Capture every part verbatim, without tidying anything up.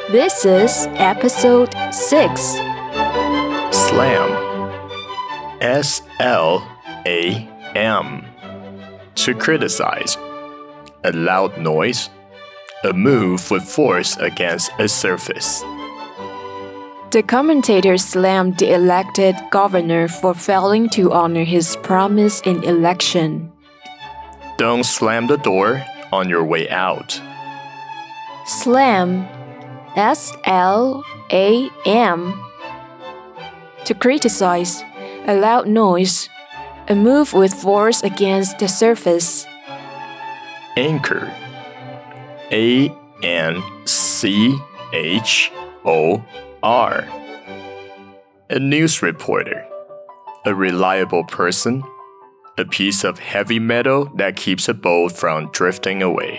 This is episode six. Slam. S L A M. To criticize. A loud noise. A move with force against a surface. The commentator slammed the elected governor for failing to honor his promise in election. Don't slam the door on your way out. Slam. S L A M. To criticize. A loud noise. A move with force against the surface. Anchor. A N C H O R. A news reporter. A reliable person. A piece of heavy metal that keeps a boat from drifting away.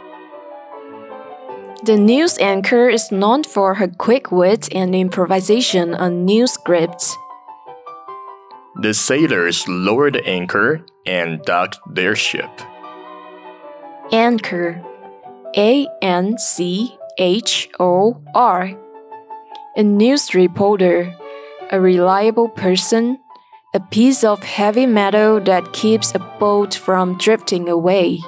The news anchor is known for her quick wit and improvisation on news scripts. The sailors lowered the anchor and docked their ship. Anchor. A N C H O R. A news reporter. A reliable person. A piece of heavy metal that keeps a boat from drifting away.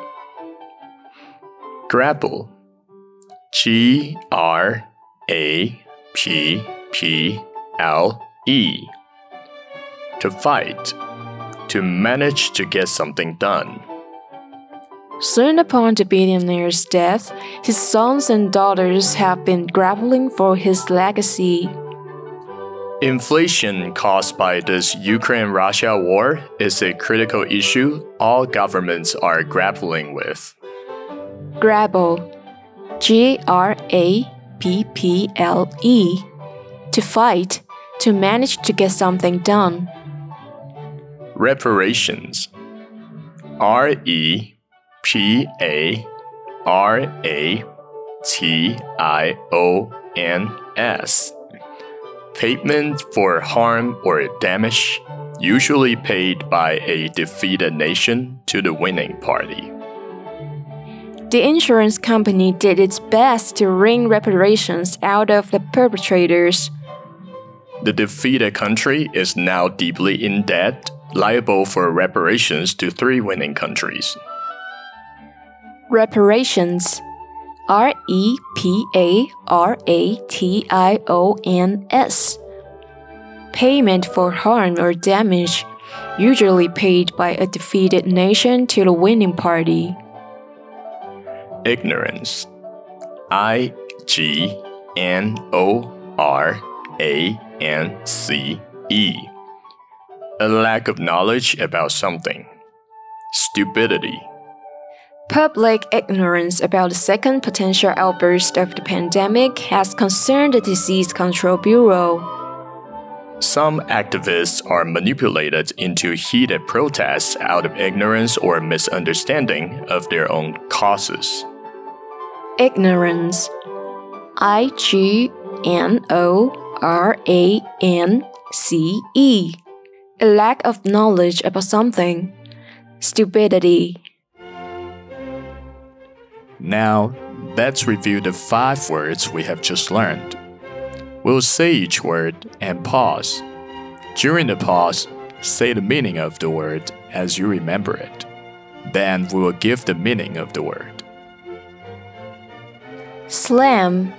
Grapple. G R A P P L E. To fight. To manage to get something done. Soon upon the billionaire's death, his sons and daughters have been grappling for his legacy. Inflation caused by this Ukraine-Russia war is a critical issue all governments are grappling with. Grapple. G R A P P L E. To fight, to manage to get something done. Reparations. R E P A R A T I O N S. Payment for harm or damage, usually paid by a defeated nation to the winning party. The insurance company did its best to wring reparations out of the perpetrators. The defeated country is now deeply in debt, liable for reparations to three winning countries. Reparations. R E P A R A T I O N S. Payment for harm or damage, usually paid by a defeated nation to the winning party. Ignorance. I G N O R A N C E. A lack of knowledge about something. Stupidity. Public ignorance about the second potential outburst of the pandemic has concerned the Disease Control Bureau. Some activists are manipulated into heated protests out of ignorance or misunderstanding of their own causes. Ignorance. I G N O R A N C E. A lack of knowledge about something. Stupidity. Now, let's review the five words we have just learned. We'll say each word and pause. During the pause, say the meaning of the word as you remember it. Then we will give the meaning of the word. Slam.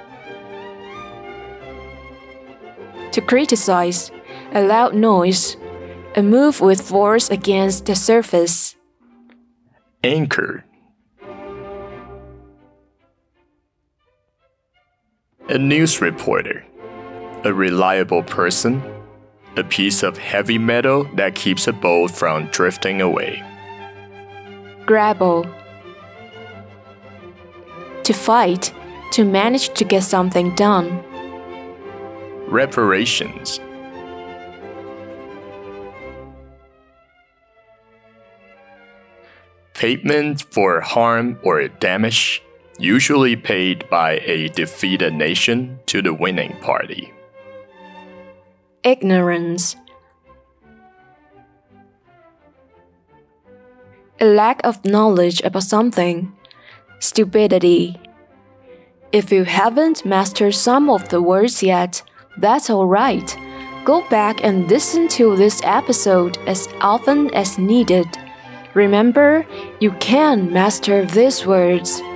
To criticize. A loud noise. A move with force against the surface. Anchor. A news reporter. A reliable person. A piece of heavy metal that keeps a boat from drifting away. Grapple. To fight, to manage to get something done. Reparations. Payment for harm or damage, usually paid by a defeated nation to the winning party. Ignorance. A lack of knowledge about something. Stupidity. If you haven't mastered some of the words yet, that's alright. Go back and listen to this episode as often as needed. Remember, you can master these words.